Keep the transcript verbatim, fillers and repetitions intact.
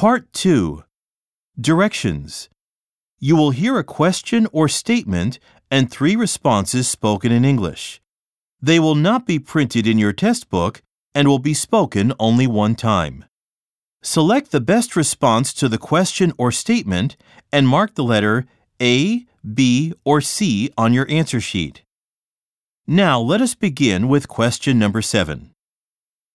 Part two. Directions. You will hear a question or statement and three responses spoken in English. They will not be printed in your test book and will be spoken only one time. Select the best response to the question or statement and mark the letter A, B, or C on your answer sheet. Now let us begin with question number seven.